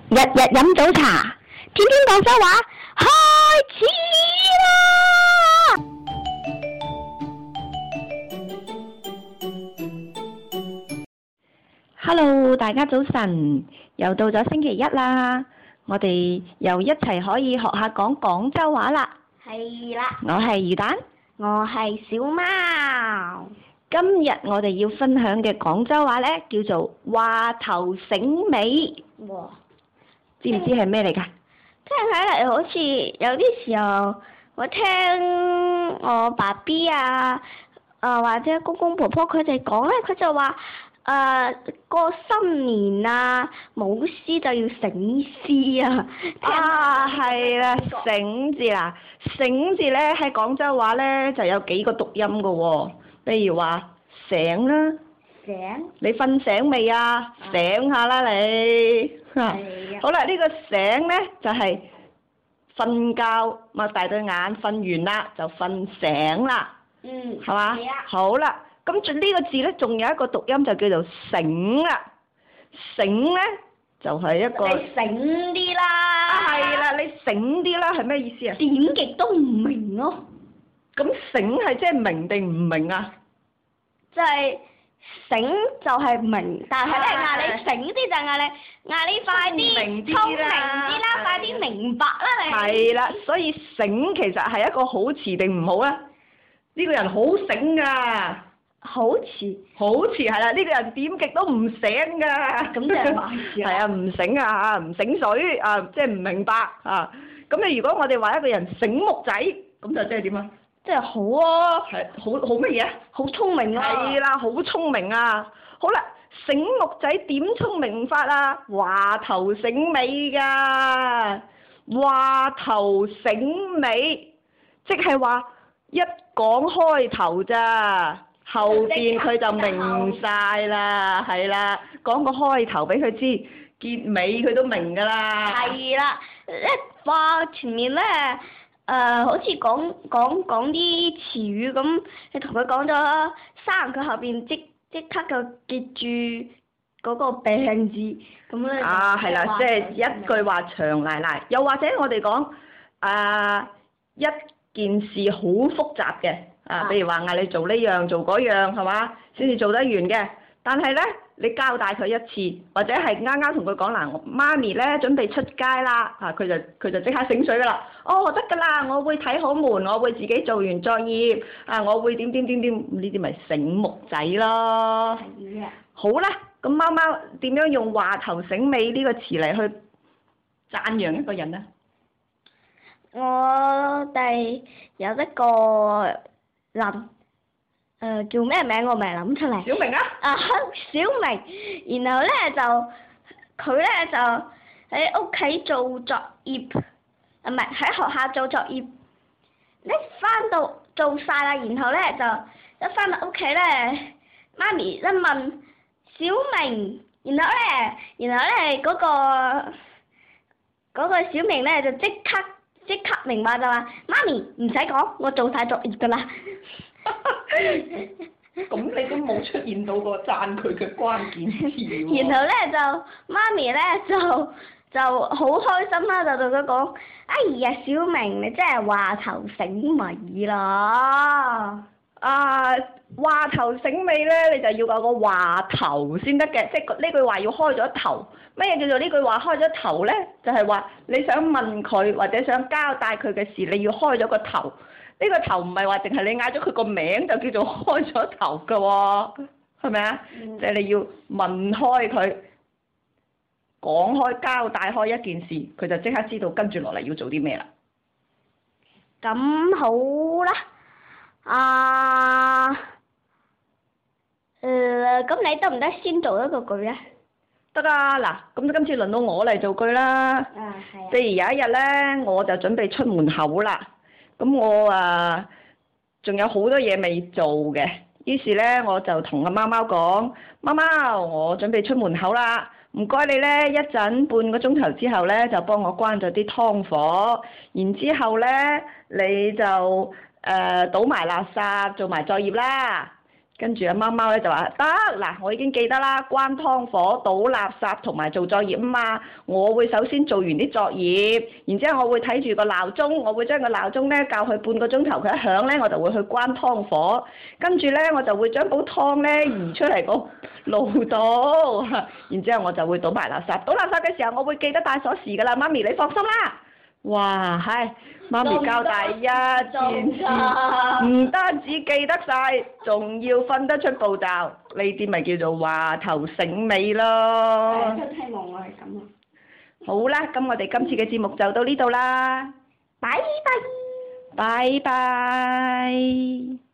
日日飲早茶，天天廣州話，開始啦！Hello， 大家早晨，又到咗星期一啦，我哋又一齊可以學下講廣州話啦。 係啦， 我係魚蛋， 我係小貓。 今日我哋要分享嘅廣州話呢，叫做話頭醒尾。 哇！ 知唔知係咩嚟㗎？ 聽起嚟好似有啲時候，我聽我爸 B 或者公公婆婆佢哋講咧，佢就話過新年啊，舞獅就要醒獅啊。 係啦，醒字啦，醒字咧喺廣州話咧就有幾個讀音㗎喎，譬如話醒啦。 醒？ 你瞓醒未啊？醒下啦你。好啦，呢個醒咧就係瞓覺，擘大對眼，瞓完啦就瞓醒啦。係嘛？ 係啊。 好啦，咁呢個字咧仲有一個讀音就叫做醒啦。醒咧就係一個。 你醒啲啦！ 係啦，你醒啲啦，係咩意思啊？ 點極都唔明咯。 咁醒係即係明定唔明啊？ 就係醒就係明，但係咧嗌你醒啲就嗌你快啲聰明啲啦，快啲明白啦你。 係啦，所以醒其實係一個好詞定唔好咧？呢個人好醒㗎。 好詞。好詞係啦，呢個人點極都唔醒㗎。 咁即係壞事啊。 係啊，唔醒啊，唔醒水啊，即係唔明白啊。咁你如果我哋話一個人醒目仔，咁就即係點啊？ 即係好啊！ 係好乜嘢啊？ 好聰明啊！ 係啦，好聰明啊！好啦，醒目仔點聰明法啊？話頭醒尾㗎，話頭醒尾，即係話一講開頭咋，後邊佢就明晒啦，係啦，講個開頭俾佢知，結尾佢都明㗎啦。 係啦，一話前面咧。好似講啲詞語咁，你同佢講咗生，佢後邊即刻就記住嗰個病字咁咧。 係啦，即係一句話長賴賴，又或者我哋講一件事好複雜嘅譬如話嗌你做呢樣做嗰樣係嘛，先至做得完嘅。但係咧，你交代佢一次，或者係啱啱同佢講嗱，媽咪咧準備出街啦，佢就即刻醒水㗎啦。哦，得㗎啦，我會睇好門，我會自己做完作業，我會點，呢啲咪醒目仔咯。 係啊。好啦，咁貓貓點樣用話頭醒尾呢個詞嚟去讚揚一個人呢？ 我哋有一個叫咩名我未諗出嚟。 小明啊！ 小明，然後咧佢咧就喺屋企做作業，唔係喺學校做作業。一翻到做晒啦，然後咧就一翻到屋企咧，媽咪一問小明，然後咧嗰個小明咧就即刻明白就話媽咪唔使講，我做晒作業㗎啦。 咁你都冇出現到個讚佢嘅關鍵詞喎。 然後咧就媽咪咧就好開心啦，就同佢講：哎呀，小明你真係話頭醒尾啦！ 話頭醒尾咧，你就要有個話頭先得嘅，即係呢句話要開咗頭。乜嘢叫做呢句話開咗頭咧？就係話你想問佢或者想交代佢嘅事，你要開咗個頭。呢個頭唔係話淨係你嗌咗佢個名就叫做開咗頭㗎喎，係咪啊？即係你要問開佢，講開交代開一件事，佢就即刻知道跟住落嚟要做啲咩啦。 咁好啦，咁你得唔得先做一個句啊？ 得啊，嗱，咁今次輪到我嚟做句啦。 係啊。 譬如有一日咧，我就準備出門口啦。咁我仲有好多嘢未做嘅，於是咧我就同阿貓貓講：貓貓，我準備出門口啦，唔該你咧一陣半個鐘頭之後咧就幫我關咗啲湯火，然之後咧你就倒埋垃圾做埋作業啦。 跟住阿貓貓咧就話得嗱，我已經記得啦，關湯火、倒垃圾同埋做作業啊嘛。我會首先做完啲作業，然之後我會睇住個鬧鐘，我會將個鬧鐘咧校去半個鐘頭，佢一響咧我就會去關湯火。跟住咧我就會將煲湯咧移出嚟個爐度，然之後我就會倒埋垃圾。倒垃圾嘅時候我會記得帶鎖匙㗎啦，媽咪你放心啦。哇，係媽咪教大一件事，唔單止記得晒，仲要分得出步驟，呢啲咪叫做話頭醒尾咯。 真希望我係咁啊！ 好啦，咁我哋今次嘅節目就到呢度啦， 拜拜。 拜拜。